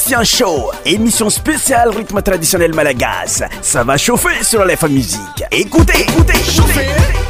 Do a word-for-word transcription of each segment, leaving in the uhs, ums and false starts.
Christian Show, émission spéciale rythme traditionnel malagasy. Ça va chauffer sur Alepha Musique. Écoutez, écoutez, chauffer.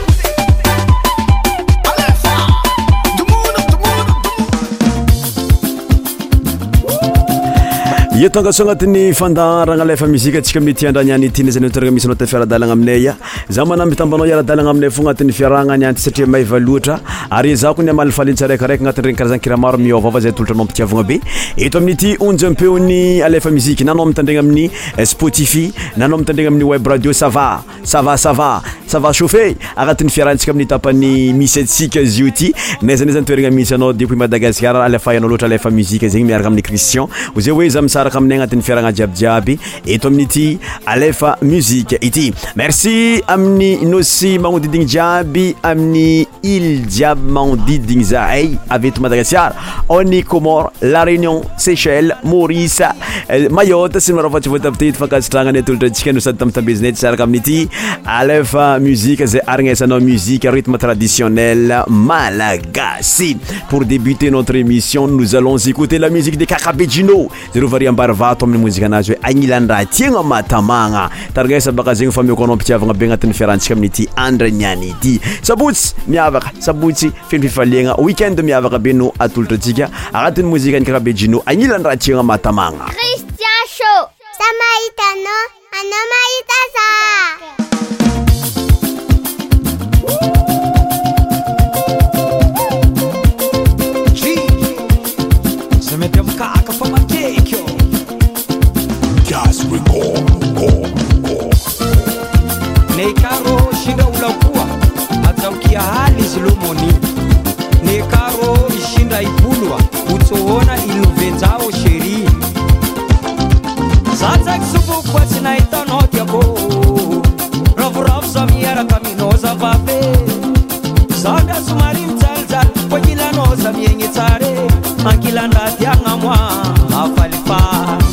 Io tonga so agnatin'ny fandaharagna Alepha Musique atsika amin'ny ty andrany ity zany toerana misy anao ta fiaradalagna aminay. Za manamby tambanao iara-dalagna aminay fo agnatin'ny fiarahagna any anty satria mahiva loatra ary za ko ny amalifaly tsaraikaraika agnatin'ny regny karazany kira maro miôvava zay tolotra anao mpitiavagna be. Eto amin'ny ty onjy ampeony Alepha Musique nanao mitandregna amin'ny Spotify, nanao mitandregna amin'ny web radio. Ça va, ça va, ça va, ça va chauffer agnatin'ny fiarahantsika amin'ny tapany misy atsika izy io ty. Nezany zany toerana misy anao depuis Madagascar Alepha anao loatra Alepha Musique zegny miaraka amin'ny Christian. Oze hoe za misaraka aminay agnatin'ny fiarahagna jiabijiaby eto amin'ny ty Alepha Musique ity. Merci amin'ny nosy magnodigny jiaby amin'ny île jiaby magnodigny zahay avy eto Madagascar, on est Comores, La Réunion, Seychelles, Maurice, Mayotte sy maro fatsy voatapitety fankasitragnany atolotratsika no sady tamtambezinay tsaraka amin'ny ty Alepha Musique zay arignesanao musique rythme traditionnel malagasy. Pour débuter notre émission, nous allons écouter la musique de Kakabejino. Zero variambarvato amin'ny muzika anazy hoe agnilandraha tiagna matamagna. Taragnesa baka zegny fa mioko anao mpitiavagna be agnatin'ny fiarantsika amin'ny ty andraniany ity. Sabotsy miavaka, sabotsy fenififaliagna, weekend miavaka be no atolotratsika agnatin'ny muzika ny Kakabejino agnilandraha tiagna matamagna. Christian Show. Sa mahita no, ano mahita sa. Nei karo shinda ulakua ataukia hali zilumoni. Nei karo shinda ipulwa utoona iluvenzao sheri. Sasa kisubu kwa sina itanoti yako. Rafu rafu samiyara kaminoza vape. Sanga sumari mzalzal kwa jila noza mienye tare. Ankila ndati angamwa afalifa.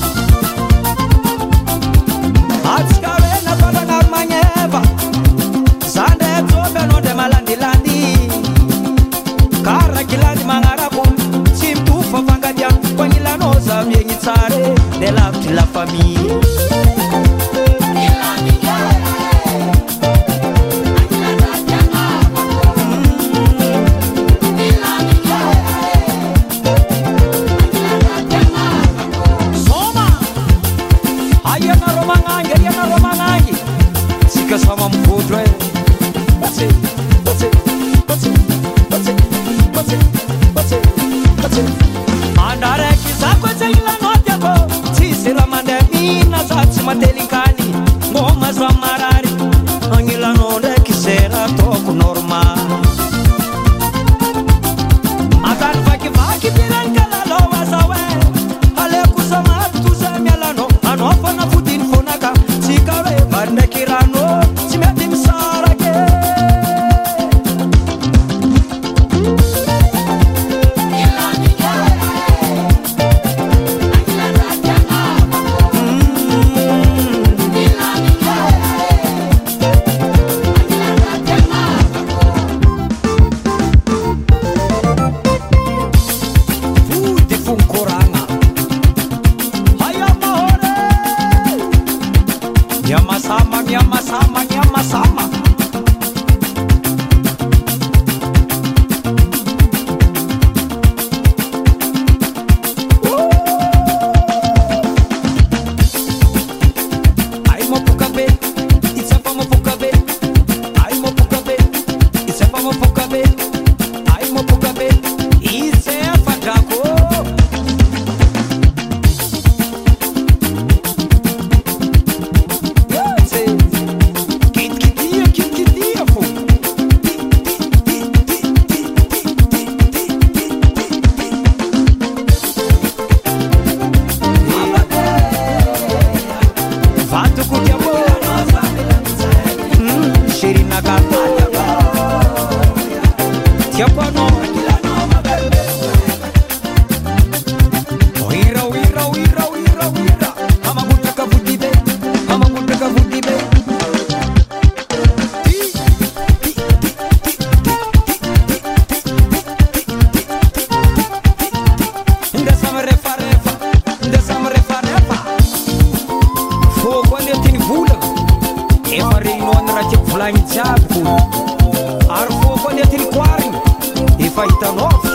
Atskawe na toda narmanyeva. Sande tobe no de malandi-landi. Kara kilandi mangarabun. Simtufa fangadian. Kwa nila noza mienye tare. De la la famille. Sama mfutwe What's it, what's it, what's it, what's it, what's it, what's it, what's it Andare kizako zeila note yako Sisi ramande mina zati matelikani Ngoma za marari Angila nonde kisera toku normal Atan vaki vaki piran kalalo wazawe Ale kusama tuzemi alano Anofa na fudin fonaka Sikare barne kirano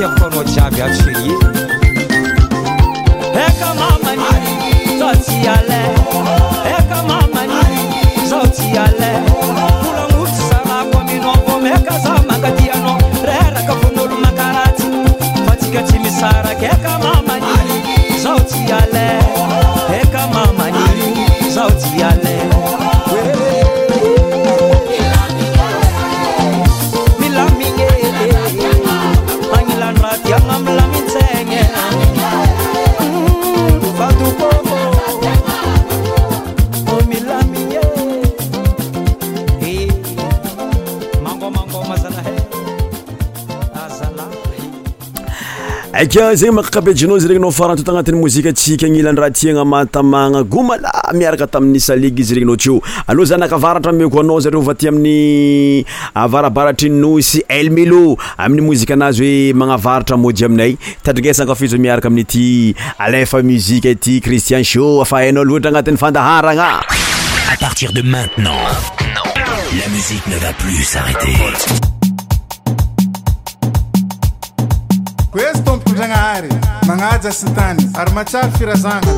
tiako anao jiaby aby chérie. Eka mamani zao tsy alay, eka mamani zao tsy alay. Mbola mofo sarako aminao vao meka za mangadianao, reraka von'olo makaratsy fa tsika tsy misaraka. Eka mamani zao tsy alay, eka mamani zao tsy alay. Aka zegny makakapetrinao izy regny nao faranto tagnatin'ny mozika atsika agnilan'ny raha tiagna matamagna gomala miaraka tamin'ny saligy izy regny nao teo. Aloha za nakavaratra meko anao zareo va ty amin'ny avarabaratry nosy Elmelo amin'ny mozika anazy hoe magnavaratra mody aminay. Tadringesana kafizo miaraka amin'ity alefa muzika ity Christian Show afa hainao loatra agnatin'ny fandaharagna. À partir de maintenant, la musique ne va plus s'arrêter. Questo mpujangaari mangaja sitani armachar firazanga.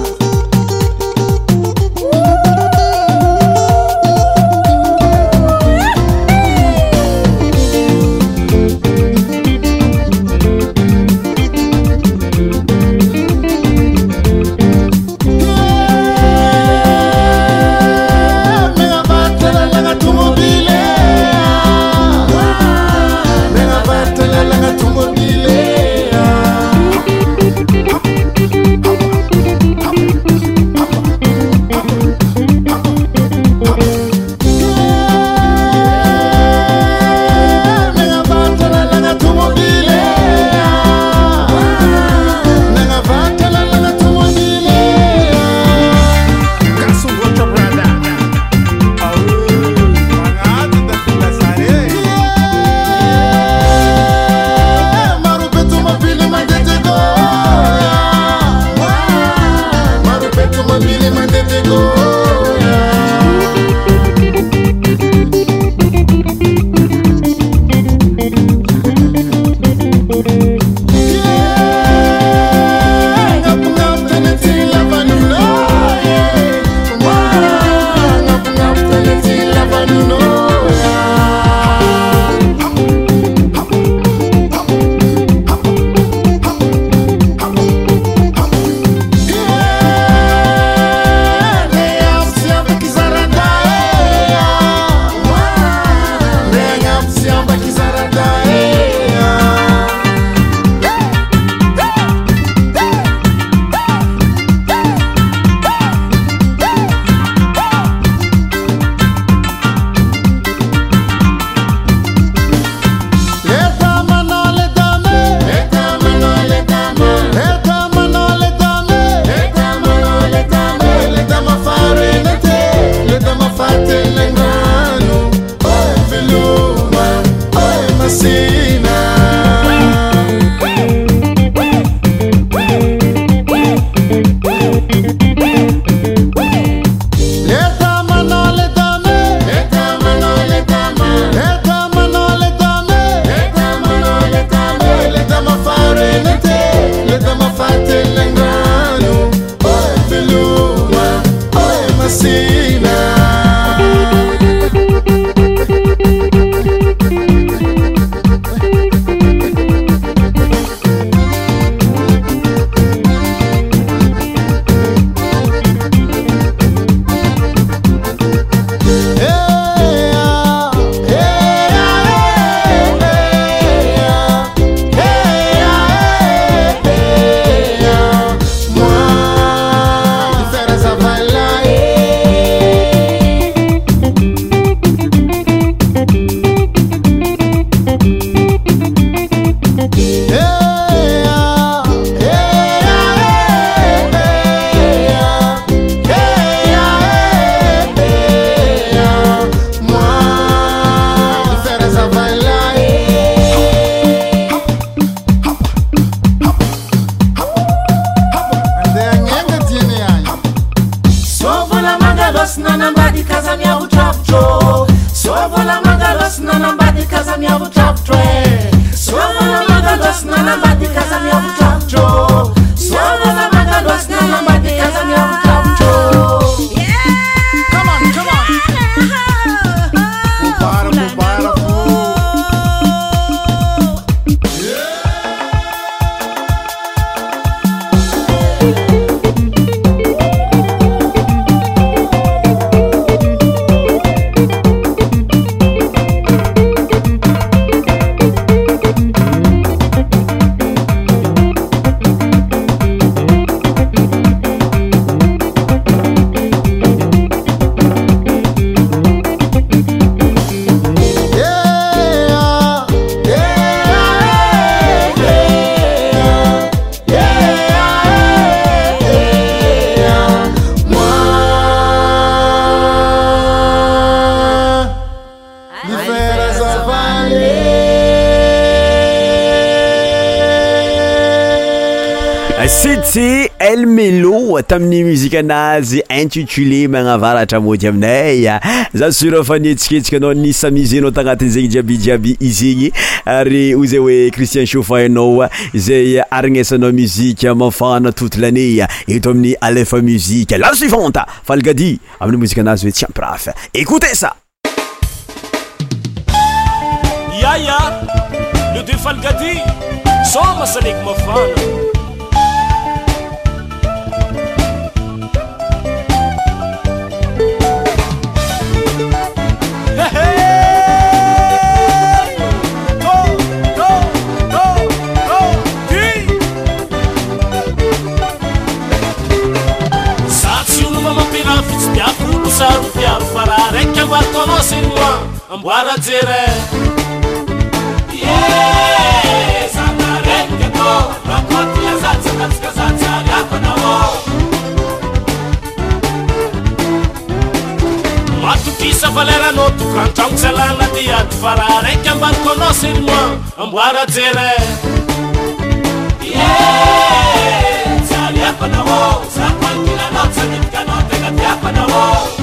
Sovola magalos na nambadi kaza miavutravutwe. Sovola magalos na nambadi City El Melo tamin'ny musique anazy intitulé magnavaratra mody aminay za sura fa nietsiketsika anao nisa mizenao tagnatin' zegny jiaby jiaby izigny ary ozy hoe Christian Chauffa anao zay arignesanao musique mafana toute l'année eto amin'ny Alefa Musique. La suivante Falgadi amin'ny musique anazy hoe tiens praf, écoutez ça. Yaya le de Falgadi soma salek mafana. Saru piaro farare che va conoscere ambuara zere yeah sandare che to racconti la salsa cazzo salsa ya panavo ma tu chissà valera no tu canton salana di at farare che va conoscere ambuara zere yeah sali ya panavo sa quanti la nozza di canotte che ya panavo.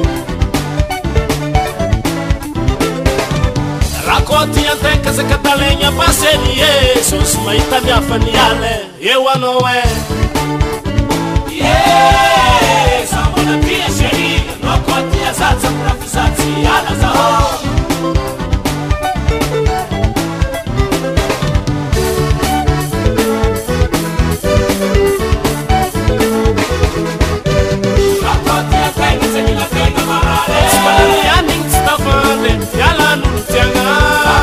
Racconti a te che se catalegna passerie sono smaita mia faniale eu ano é yeah siamo na piacere no conti a salsa pra fissarsi alla sao racconti a te che se mi la tenga male spari a ning stafane yala non tianga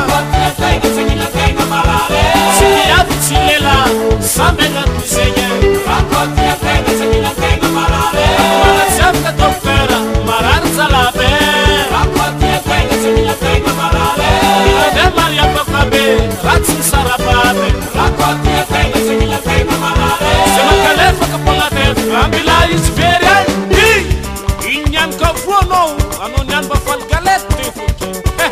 Samena disegna racconti a te che se mi la tengo marare ma sempre toccera maranza la be racconti a te che se mi la tengo marare la de Maria Papabe razzi sarabate racconti a te che se mi la tengo marare se ma calefa capola te ambila isferia di ignan ko fuono anonian ba fal galette fuki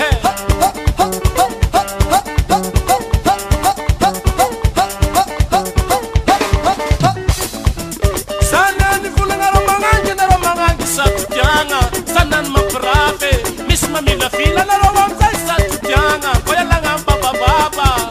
Mamila fila la roba mzaisa tutianga Koya langa baba baba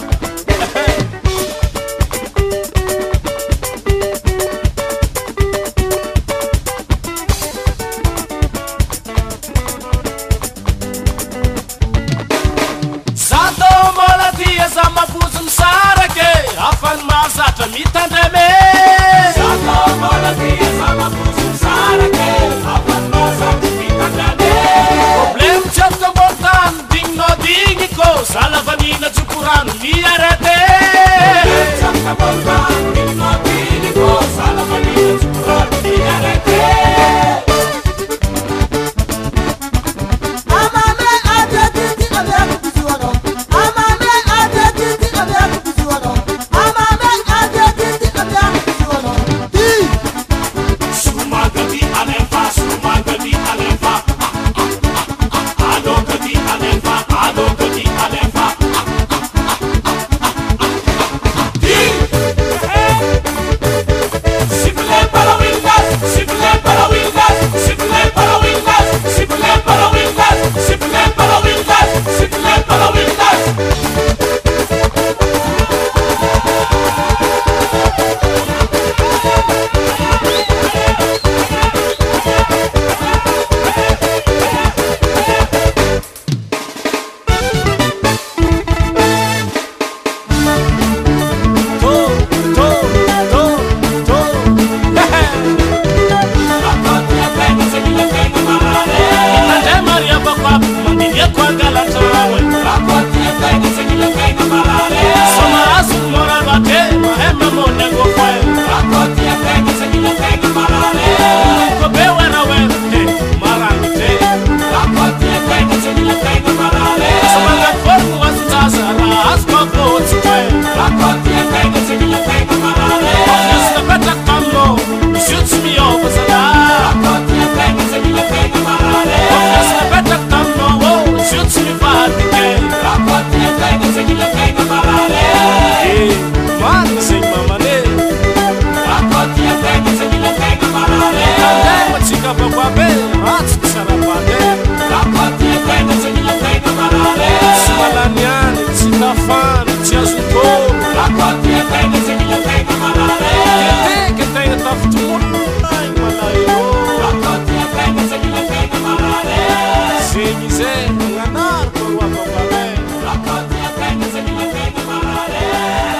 Sato mola tia za mabuzu msarake Afan mazata mitandeme Sato mola tia za mabuzu msarake Afan mazata mitandeme Problem certo mortan ding no ding ko sala vanina zukuran mi arate certo mortan ding no ding ko sala vanina zukuran mi arate amame atati ave kuzuano amame atati ave kuzuano amame atati ave kuzuano di sumagati alefa sumagati alefa Hey!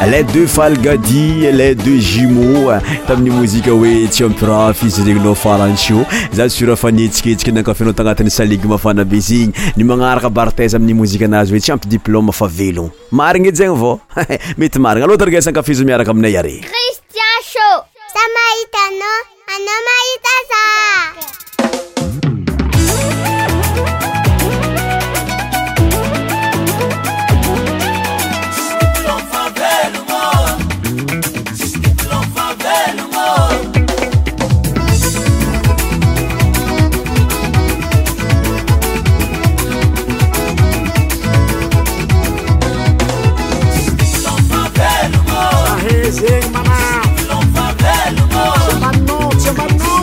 les deux Falgadi, les deux jumeaux tamin'ny mozika hoe tsy ampiraha fizy regninao farantsio za sura fanetsiketsika nankafinao tagnatin'ny saligy mafana be zigny ny magnaraka barteze amin'ny mozika anazy hoe tsy ampy diplôme fa velogno marigny edy zegny vao mety marigny alô tarigesa ankafizo miaraka aminay are Christian Show sa mahita anao anao mahita za Zeng mana, semano, semano,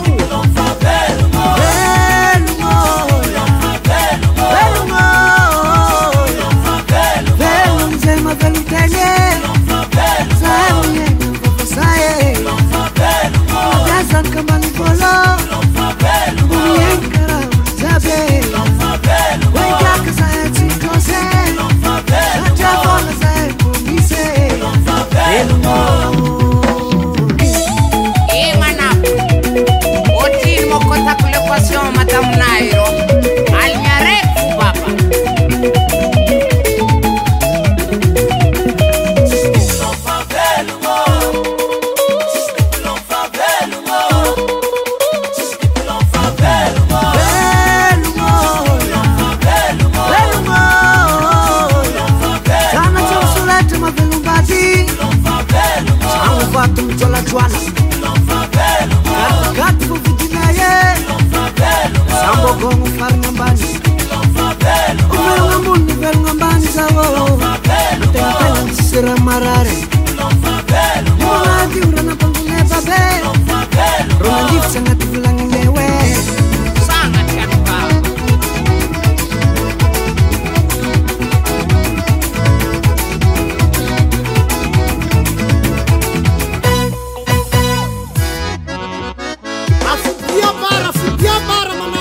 Madame Nairo, Alnyarek Baba. Sambo gongo far ngambani Umero ngambuni vel ngambani zawo Tengelan sira marare Mula diurana pangune babe Rona ngif sangat ulangi mewe Sangat kanpa Afudia bara, afudia bara mama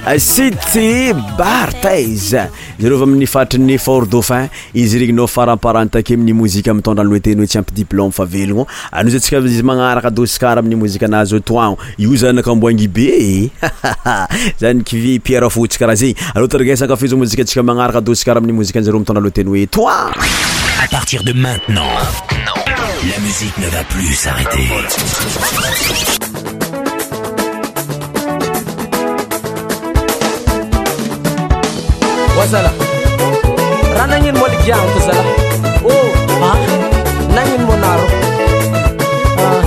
City Barthez zareo avy amin'ny fatrin'ny Fort Dauphin izy regninao faramparantake amin'ny mozika mitondra ny loeteny hoe tsy ampy diplôme fa velogno anozatsika izy magnaraka d'Oscar amin'ny mozika nazy toagno io zany nakamboangy be zany kivy Pierre Fotsy karaha zegny alors taragesaka kafizo mozika atsika magnaraka d'Oscar amin'ny mozika zareo mitondra loeteny hoe toi. À partir de maintenant, la musique ne va plus s'arrêter. Wasala ranangin mo ligyang to sala oh ha nangin mo naro ah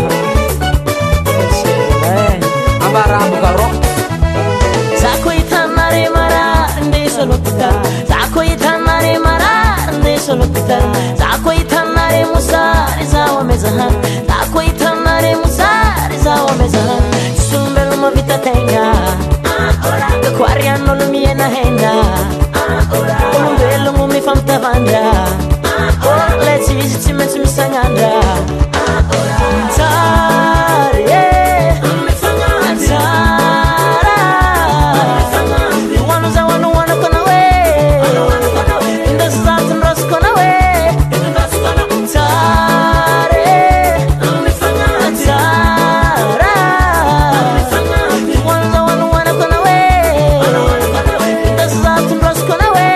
eh ambara bugaro zako itamare mara ndi solopita zako itamare mara ndi solopita zako itamare musari zawa mezahan zako itamare musari zawa mezahan sumbelo mo vita tenga ora kwariano lumiena henda un bello mo mi fam tavandra oh let's see si me si mi sangandra tare mi sangandra you wanna za wanna wanna kona we in the start and rust kona we tare mi sangandra you wanna za wanna wanna kona we in the start and rust kona we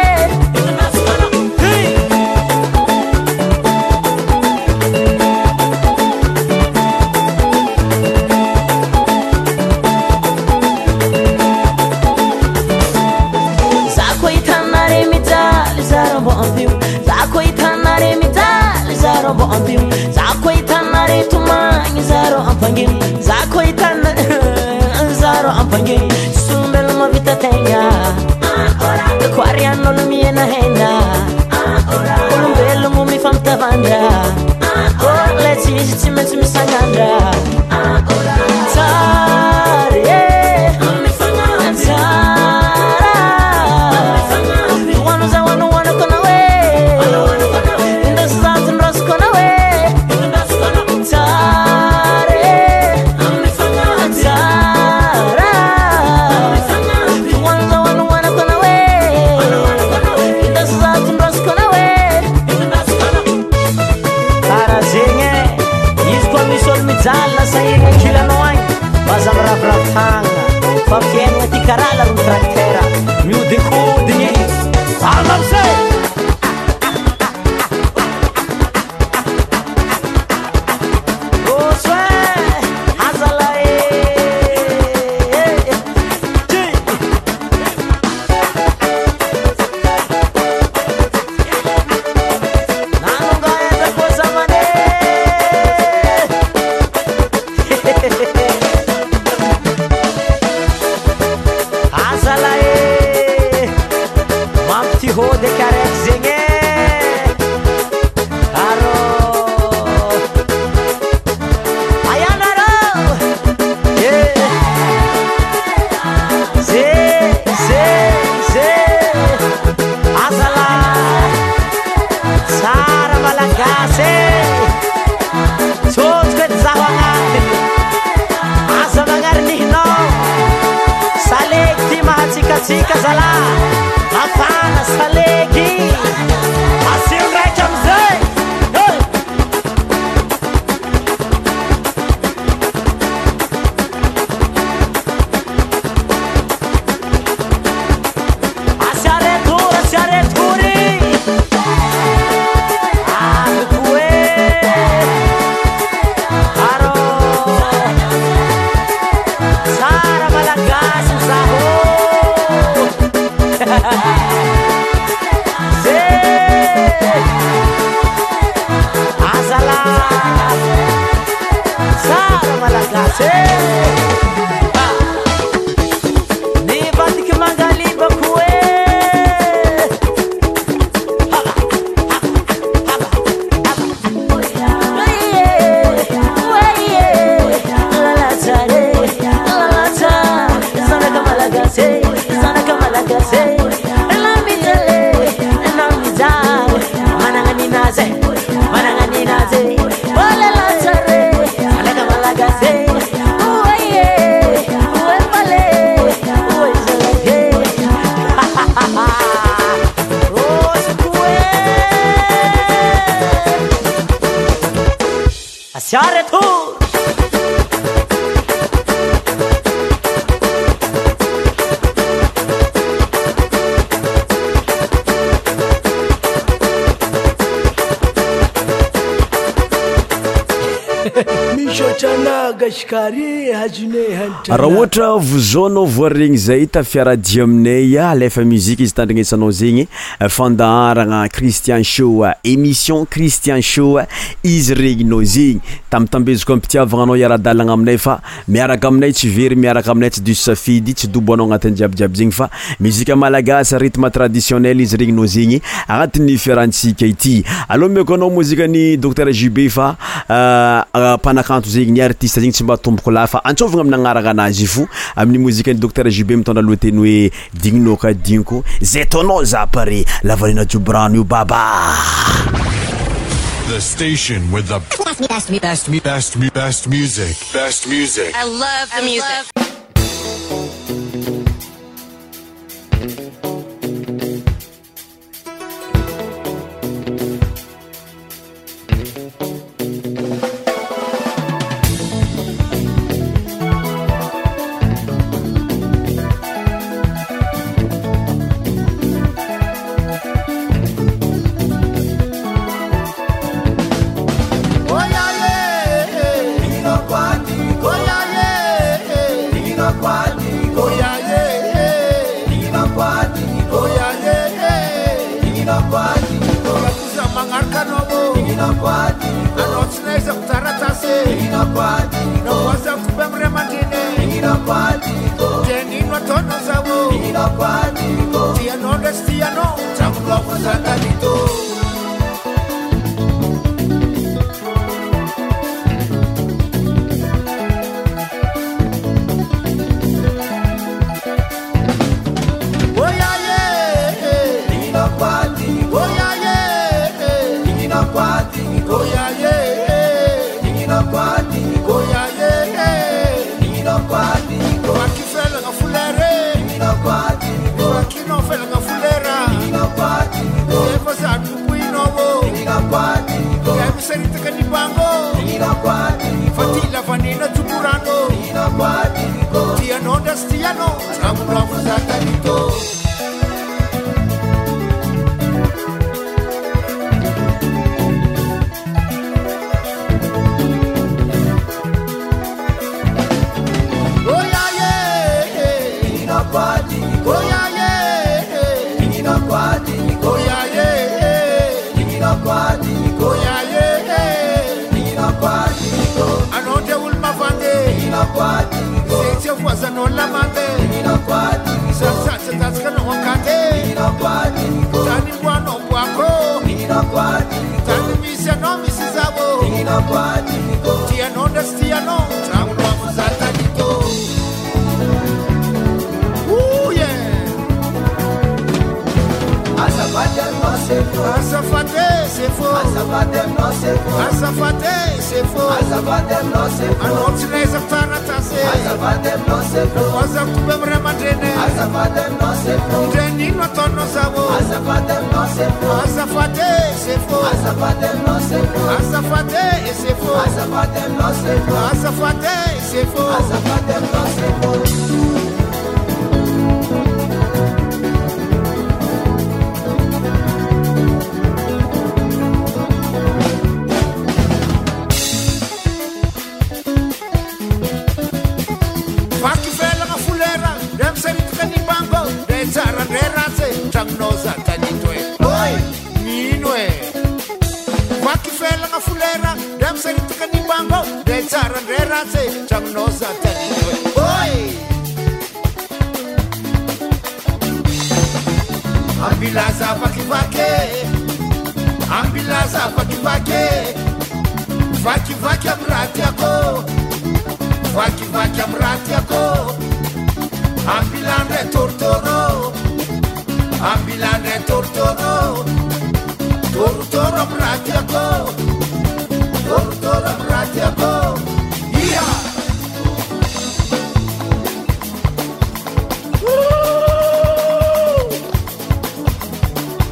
zako itanare mitali zarombo ampiu zako itanare mitali zarombo ampiu zako itanare tumangi zaro ampangin zako itanare zaro ampangin sumbelo mo vita tenga kwariano lumiena henda un bello mo mi fam tavandra oh let's see si me si mi sangandra tare mi sangandra you wanna za wanna wanna kona we in the start and rust kona we tare mi sangandra you wanna za wanna wanna kona we in the start and rust kona we para zenye is kwa misol mijala sa inga kila noang bazam rap rap hanga fa fien wati karala rum traktera miu de ko dinye salam se oswe azala e nanunga eza kosa mane azala e mamti ho de karek zenye aro ayanaro yeah ze ze ze azala sara malangase sot ke zawanga asa mangarni no salekti mahachika chika zala afana saleki asim rakamze hey asare tur asare turi akue aro sara malagas zaho ze azala sara malagas ni batik mangali bakue Hey c'est un retour. raha ohatra vozaonao voaregny zay tafiaradia aminay alefa muzika izy tandrignesanao zegny fandaharagna Christian Show émission Christian Show izy regninao zegny tam'tambeziko ampitiavagnanao iara-dalagna aminay fa miaraka aminay tsy very miaraka aminay tsy diso safidy tsy dobo anao agnatin'ny jiabijiaby zegny fa muzika malagasy rythme traditionnel izy regninao zegny agnatin'ny fiarantsika ity aloha miako anao muzika ny docteur J B fa mpanakanto zegny ny artiste zegny tsy mba tomboko lafa antsovagna amin'ny agnaragna anazy fo amin'ny muzika ny docteur J B mitondra lohateny hoe digninao ka diniko zay taonao za pare lavalina jobrano io baba. The station with the best, best, best, best, best music. Best music. I love the music.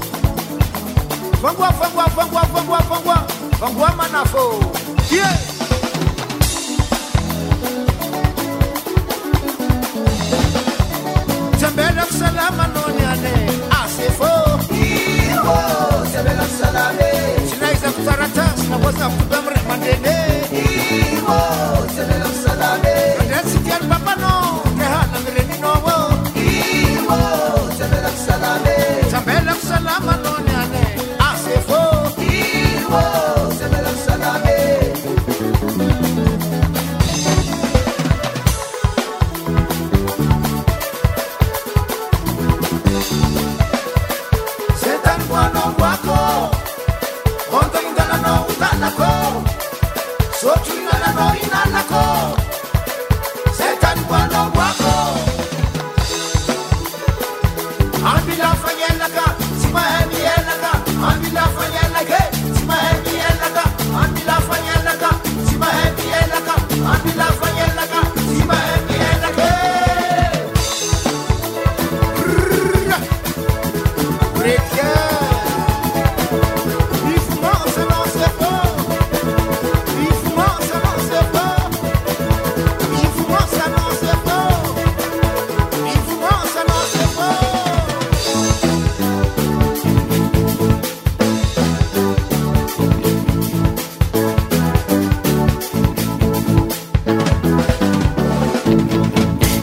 Vangwa, vangwa, vangwa, vangwa, vangwa, vangwa manafo. Yeah.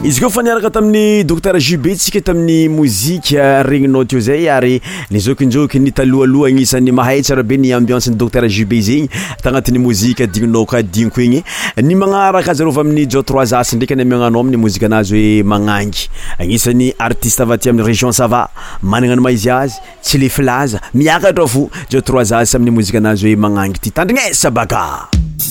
izy koa fa niaraka tamin'ny docteur Jubé tsika tamin'ny mozika regninao teo zay ary ny zokinjoky ny talohaloha agnisan'ny mahay tsara be ny ambiance ny docteur Jubé zegny tagnatin'ny mozika digninao ka diniko igny ny magnaraka azarova amin'ny jo trois as ndraiky ny amiagnanao amin'ny mozika anazy hoe magnangy agnisan'ny artiste avy aty amin'ny région Sava managna ny maizy azy tsy le filaza miakatra fo jo trois as amin'ny mozika anazy hoe magnangy ty tandrignesa baka.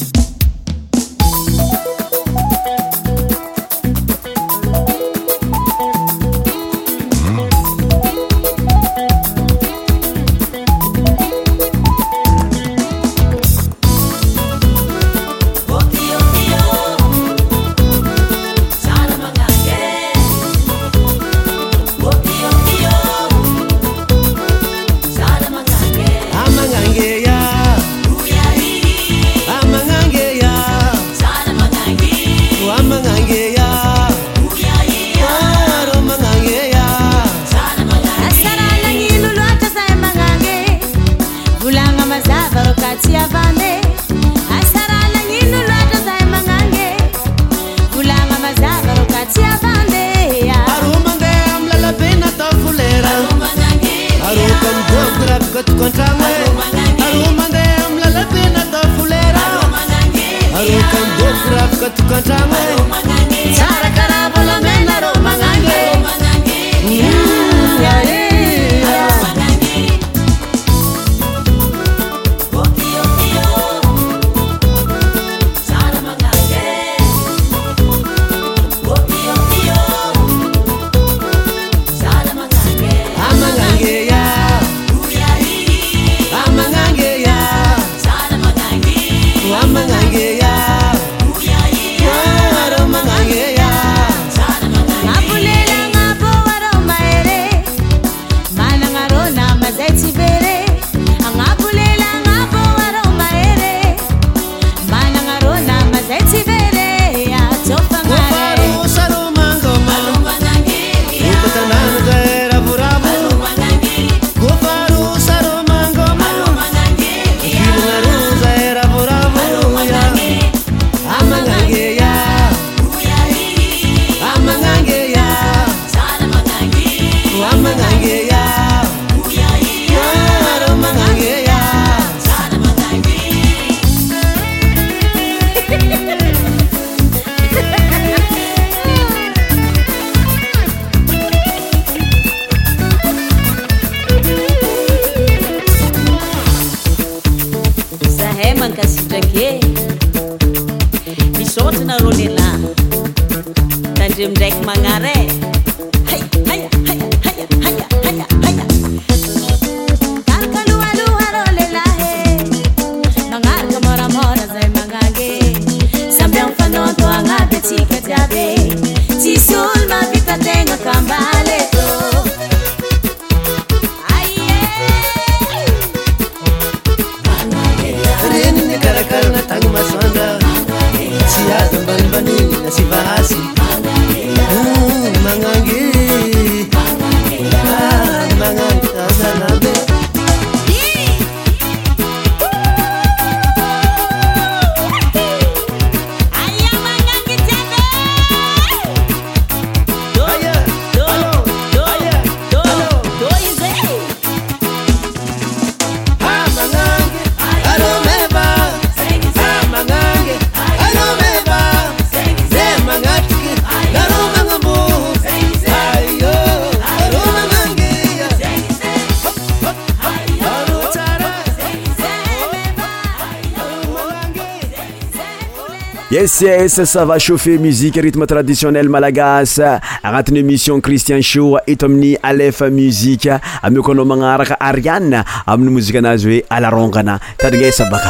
Yes, yes, ça va chauffer musique, rythme traditionnel malagasy agnatin'ny émission Christian Show eto amin'ny Aleph Musique amikono magnaraka Ariane amin'ny muzika anazy hoe alarongana tadrignesa baka.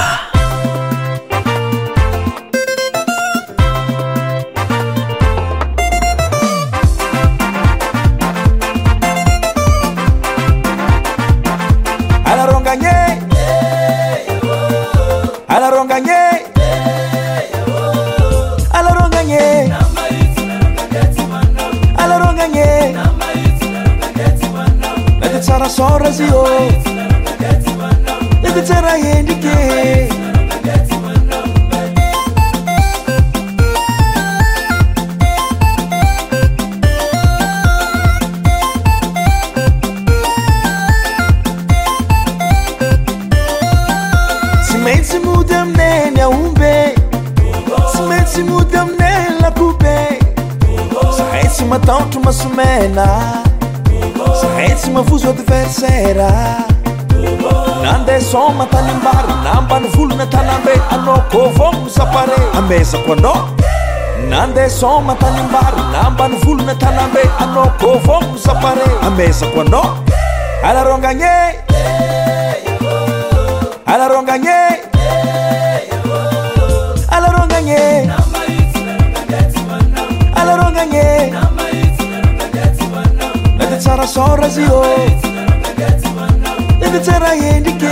Alaronganye Alaronganye Tsara sora zio Ede tsara yendike mena zahay tsy mafozo adversaire nandeha soma tanimbary nambany volona tanambe anao kôvogno sapare amezako anao nandeha soma tanimbary nambany volona tanambe anao kôvogno sapare amezako anao alarongagné alarongagné alarongagné alarongagné nade tsara sorazio nade tsara endrike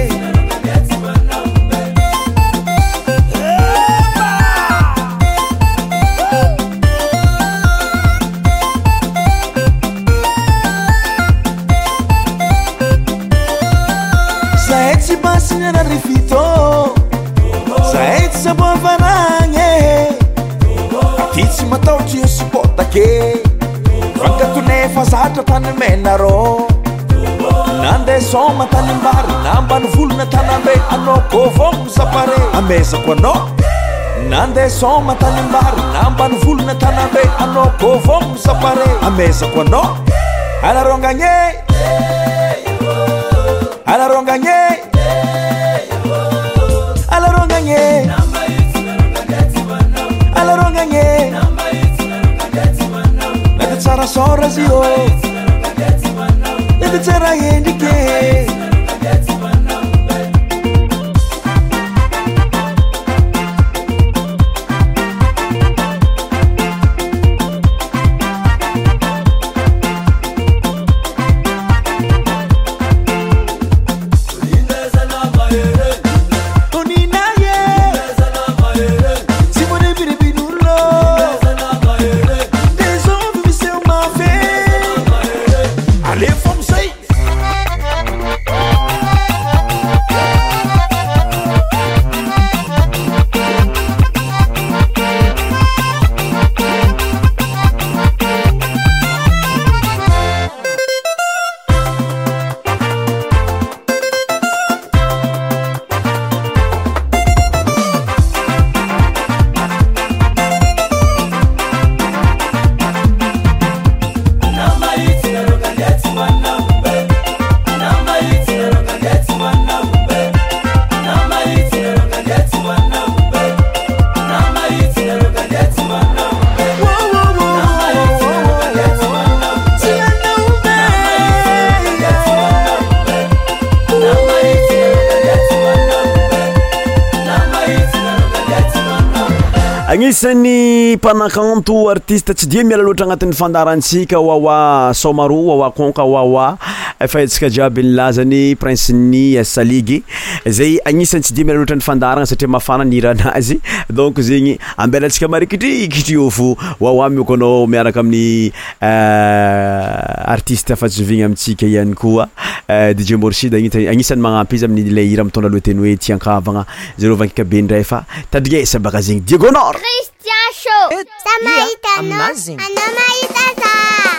zahay tsy basignana rifito zahay tsy saboavaragny ty tsy mataotry io supportake fankatonefa zatra tany menarô nandeha soma tanimbary nambany volona tanambe anao kôvogno sapare amezako anao nandeha soma tanimbary nambany volona tanambe anao kôvogno sapare amezako anao alarongagné alarongagné alarongagné alarongagné nade tsara sorazio nade tsara endrike agnisan'ny mpanakanto artiste tsy dia miala loatra agnatin'ny fandarantsika wawa somaro wawa konka wawa efa etsika jiaby nilazany prince ny saligy zay agnisan'ny tsy dia miala loatra ny fandaragna satria mafana ny iranazy donc zegny ambelatsika marikitrikitry fo wawa miokonao miaraka amin'ny artiste afa jovigny amitsika ihany koa D J Morshid agnisan'ny magnampy izy amin'ilay hira mitondra loateny hoe tiankavagna zero vankika be ndray fa tadrignesa baka zegny Diegonor Christian Show sa mahita no ano mahita sa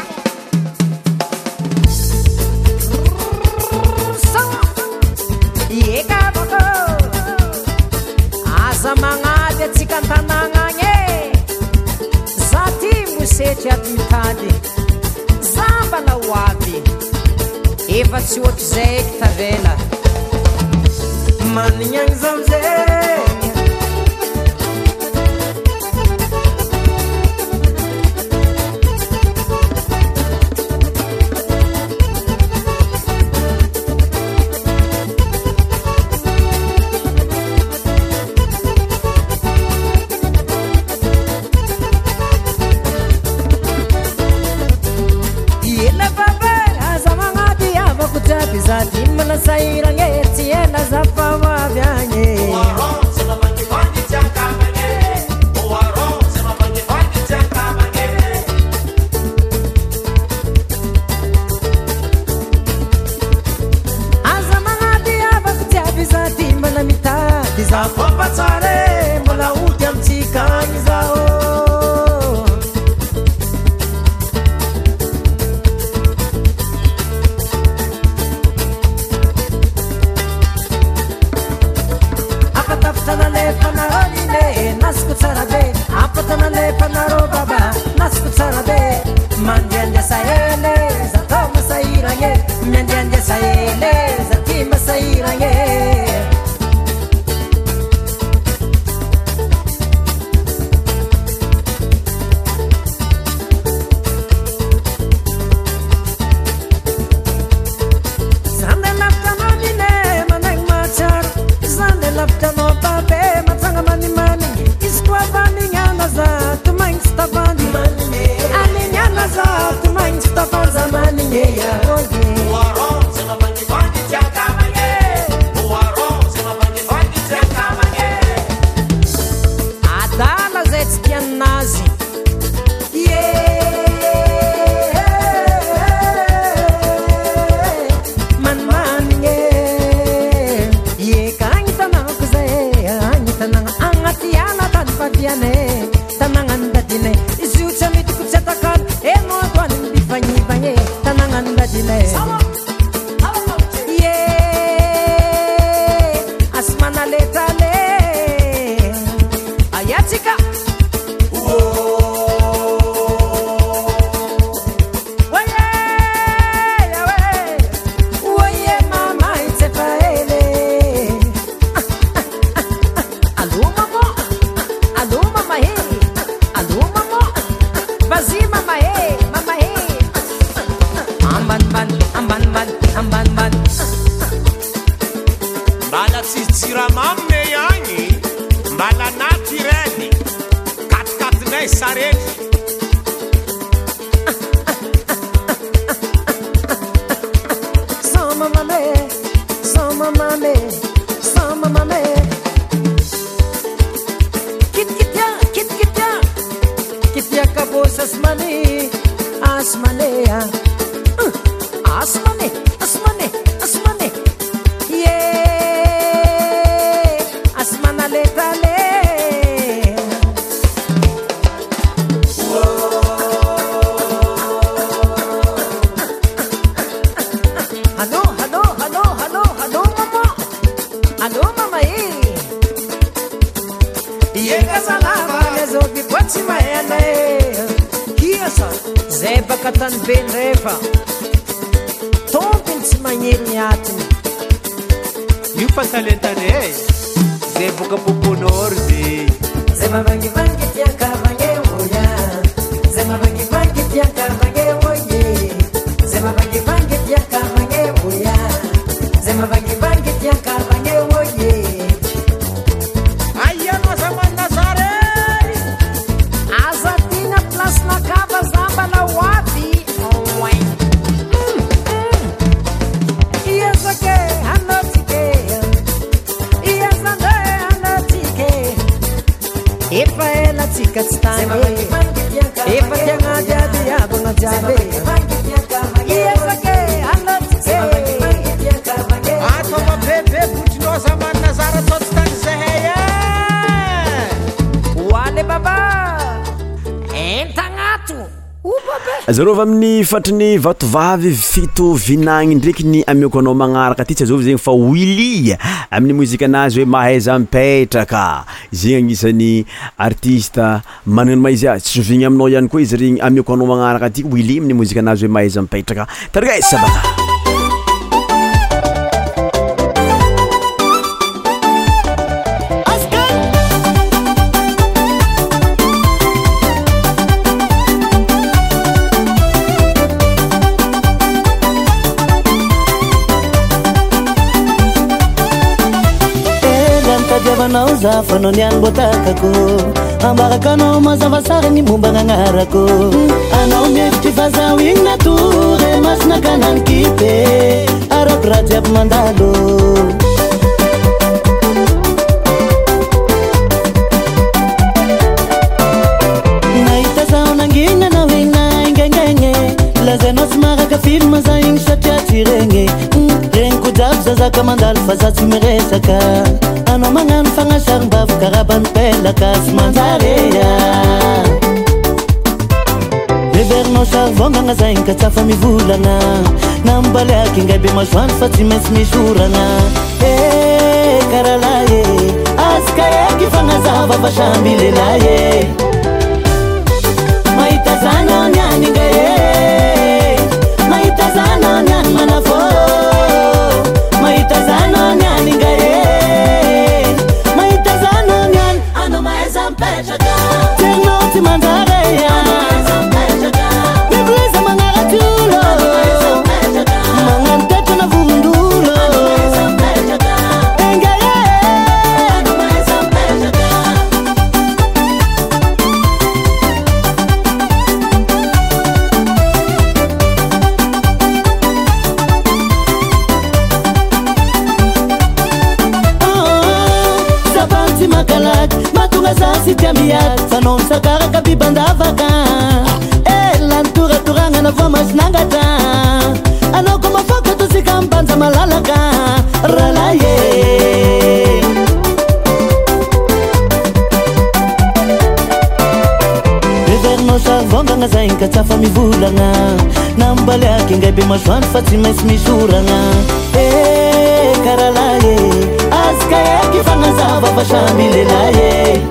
Ieka bako aza magnady atsika an-tanagnagne zati mosetry atitady zambana ho avy efa tsy ohatry zay eky tavela manignagny zao zay zati mana saira ngeti ena zapava vyanye azamangati avakutiavi zati mana mitati zapopatsare mola utia mtikani zao saele zatoma sairanye mendianje saele zatima sairanye Zande lapta manine manang machar Zande lapta no babe matanga mani mani Iskwa bani nyana za tumang stabani Ani nyana za tumang stabani zamani nyeya Uwaron sema bani bani chaka mange Uwaron sema bani bani chaka mange Adala zetskian nazi Tanangan dadine isucha mitu kuchatakan emo twan bifanyi banye tanangan dadine yeah asmana letale ayatika Mbala tsitsiramamme yani mbala natureli katikatinay sarety Sama mame sama mame sama mame kit kitya kit kitya kitya kabos asmani asmane asmane asmane asmane yeah asmana letale Hello hello hello hello hello mama hello mama eh Yega salama lezo bipoti maene Kiasa zeba katan ben refa Tompin simanyeri atini Yupa talentane zebuka pupunorzi Zema bangi bangi tiaka bange oya Zema bangi bangi tiaka bange oye Zema bangi bangi tiaka bange oya Zema bangi bangi tiaka bange oye Ayano zaman Nazare Azatina plus na kaba zamba na wapi Owe Iyazake hanotike Iyazande hanotike Ipa ela tika tstane Ipa tianga jadi abunga jabe Iyazake hanotike Ato mabebe butino zaman Nazare totstani zeheye Wale baba Entangatu Zarova amin'ny fatriny vatovavy fito vinagny ndraiky ny amioko anao magnaraka ty tsy azovy zegny fa Willy amin'ny mozika anazy hoe mahaiza mipetraka zegny agnisan'ny artiste manano maizy azy tsy sovigny aminao ihany koa izy regny amioko anao magnaraka ty Willy amin'ny mozika anazy hoe mahaiza mipetraka tarigesa baka Nauza fano nian botakako ambarakanao mazavasara ny momba gn'agnarako anao mefitry fazawigny natory masina kanany kipe arako raha jiaby mandalo nahita zao nangina anao igny naingaingaigny lazanao tsy maraka filma za igny satria tsy regny regny ko jiaby zazaka mandalo fa za tsy miresaka Ano mangan fangasang baf karaban pelaka smanzarea Neverno savonga nga zain katsafa mivulana Nambaliaki ngay be maswan fatsi mes misurana Eh karalaye askayaki fangazava vashambilelaye Maitazana nyani ngaye miamiady fanao misakaraka bibandavaka e lanytoratoragna na voa masinangatra anao ko mafoka tosika mibanja malalaka ralaye bevernao savongagna zaigny ka tsafa mivolagna nambaliaky ingay be masoandro fa tsy maintsy misoragna e karalaye azka eky fagnazava fa samby lelaye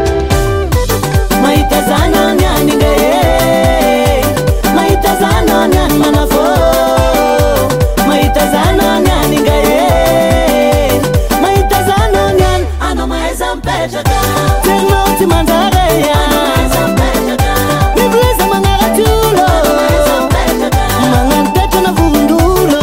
mahita zana niany ingay mahita zana niany manafô mahita zana niany ingay mahita zana niany anao mahaiza mipetraka terinao tsy manjareya mivoleza magnaratulo magnantetra na vondolo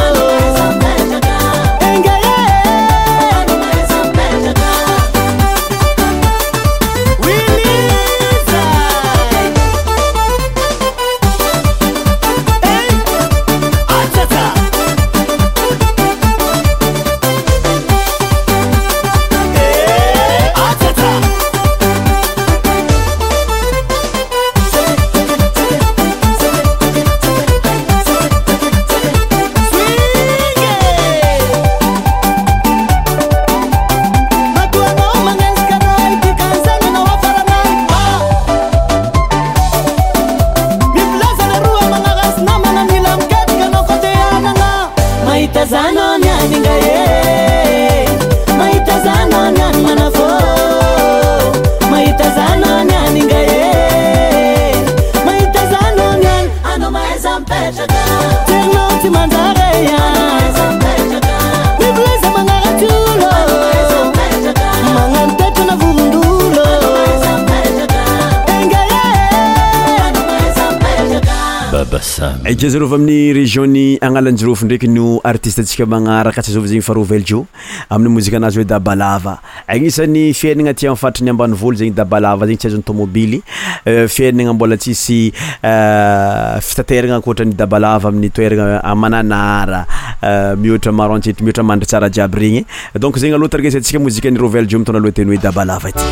Ejazarova amin'ny région-ny Agnalanjirofo ndraiky no artiste atsika magnaraka tsy azova zegny Faroveljo amin'ny mozika anazy hoe Dabalava. Agnisan'ny fiaignana aty amin'ny fatrany ambanivolo zegny Dabalava zegny tsy azon'ny tomobily fiaignana mbola tsisy fitateragna ankoatran'ny Dabalava amin'ny toeragna Mananara mihoatra maro antseto mihoatra mandry tsara jiaby regny. Donc zegny aloha tarika atsika mozika ny Roveljo mitondra aloha teny hoe Dabalava ity.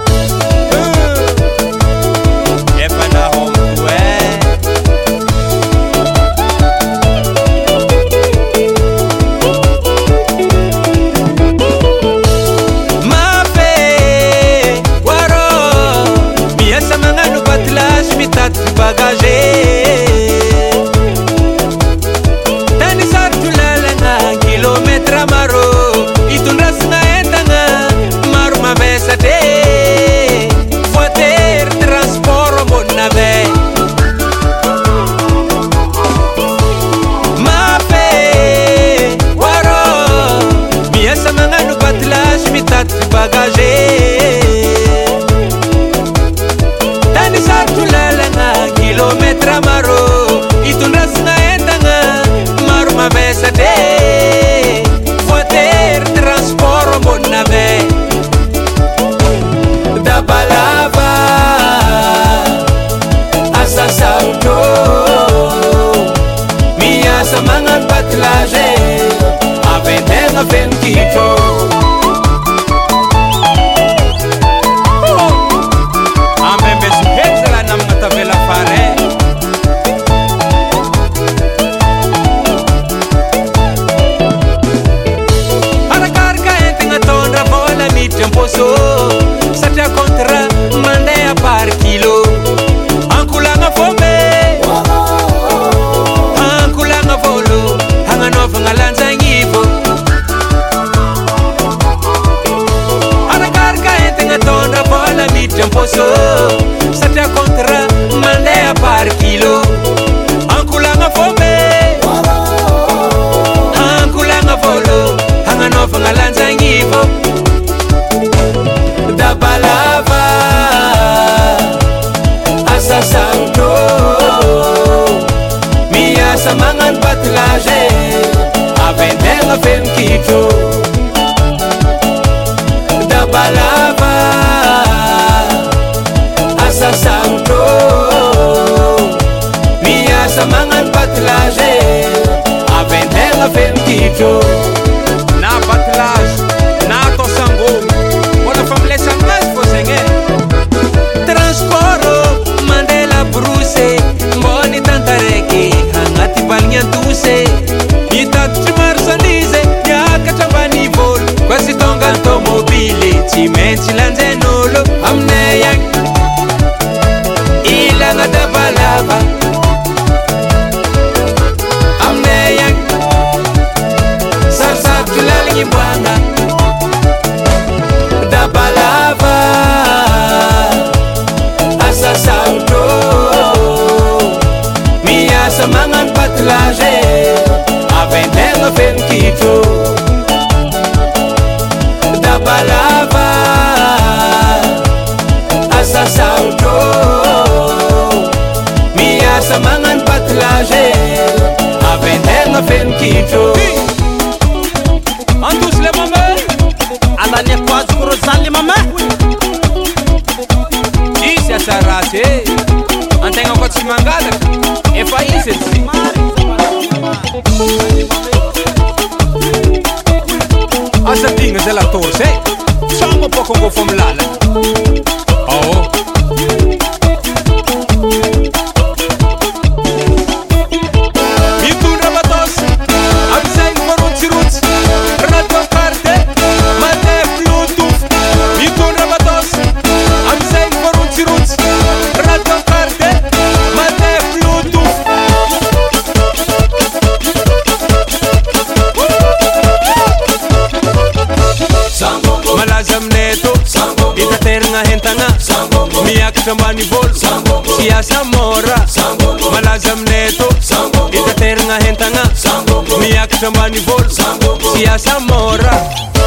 Na batlage, na tosango, wala familesa mas po senge. entana miakatra ambany volo tsy asa mora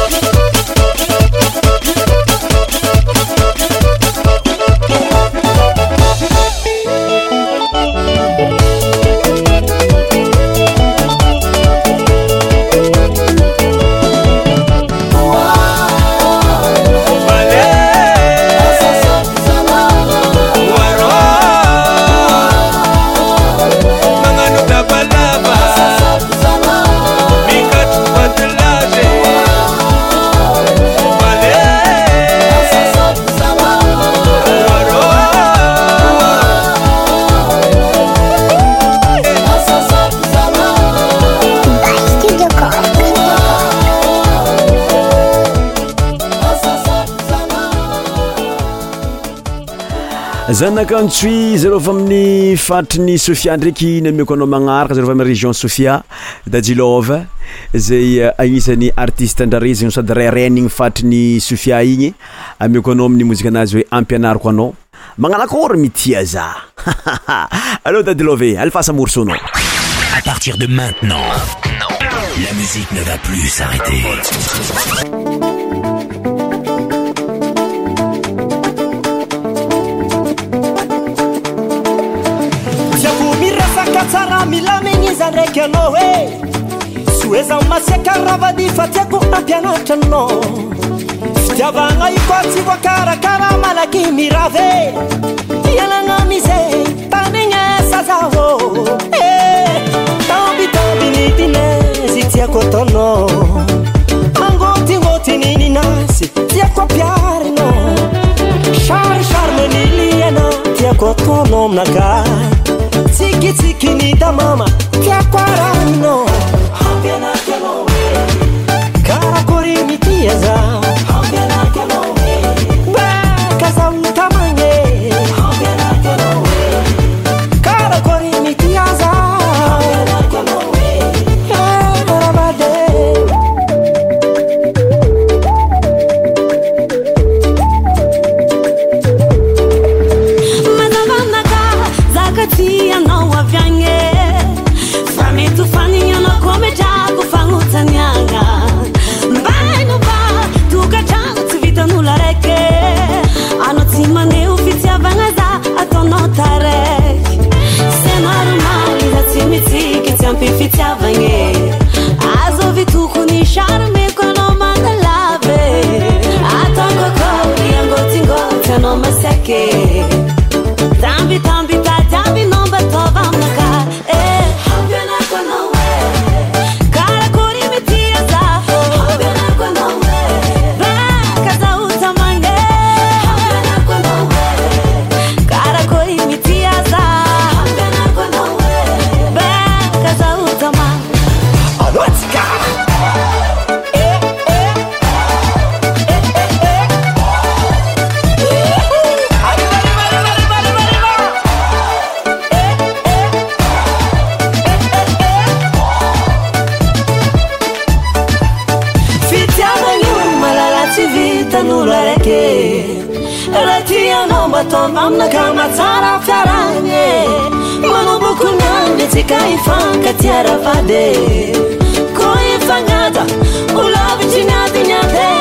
zanakantsoy zareo fa amin'ny fatry Sofia ndraiky nameko anao magnaraka zareo fa amin'ny région Sofia Dadilova zay agnisan'ny artiste andrarezigny sady rairenigny fatry Sofia igny ameko anao amin'ny mozika anazy hoe ampianariko anao magnanakory mitia za allô Dadilova alfasa morceau à partir de maintenant la musique ne va plus s'arrêter. Tsara milamigny zandraiky anao e soeza masiaka ravady fa tiako ampianatra anao fitiavagna io koa tsy voakarakara malaky mirave ialagna mize tanigna zaho e tambitambi nidinezy tiako ataonao mangotingotiny ninasy tiako ampiarino char charmeniliana tiako ataonao aminaka Tiki tiki ni da mama Tia quarano Hambiana kano we Karakuri mi tiaza Hambiana kano we Beka utamanye Hambiana kano we Karakuri mi tiaza Hambiana kano we Rabade Zakatia no avyange Fami tu fani yana kome jago fangu tanyanga Mbai no ba Tuka changu tivita nula reke Ano tima ne ufitia vangaza Ato no tarek Sena rumali za timiti Kitiampi fitia vange Azo vituku ni sharme Kono mandalave Ato koko Yango tingo Tano maseke Tambi tambi tambi nomba tova mnaka eh hambiana kono we kara kuri mitia za hambiana kono we ba kaza utamange hambiana kono we kara kuri mitia za hambiana kono we ba kaza utamange awatika eh eh Ratia nomba tova mnaka matsara fiaranye Manobo kunyande tika ifanka tiara vade Ko ifangata ulavi chinyate nyate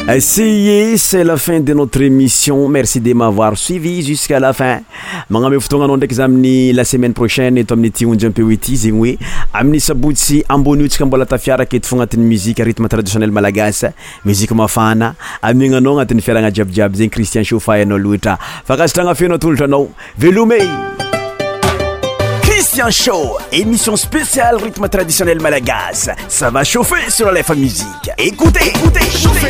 Essayez, c'est la fin de notre émission. Merci de m'avoir suivi jusqu'à la fin. Magname fotoagna ndraiky zaminy la semaine prochaine eto amin'ny ty onjy ampeo ity zegny hoe amin'ny sabotsy amboniotsika mbola tafiaraka eto fo agnatin'ny musique rythme traditionnel malagasy, musique mafana amignanao agnatin'ny fiaragna jiabijiaby zegny Christian Chauffay anao loatra. Fakasitragna fenao tolotro anao. Velome Christian Show, émission spéciale rythme traditionnel malagasy. Ça va chauffer sur la F M Musique. Écoutez, écoutez, chauffer.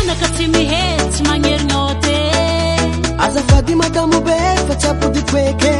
Azafady madamu be, facciamo di quei che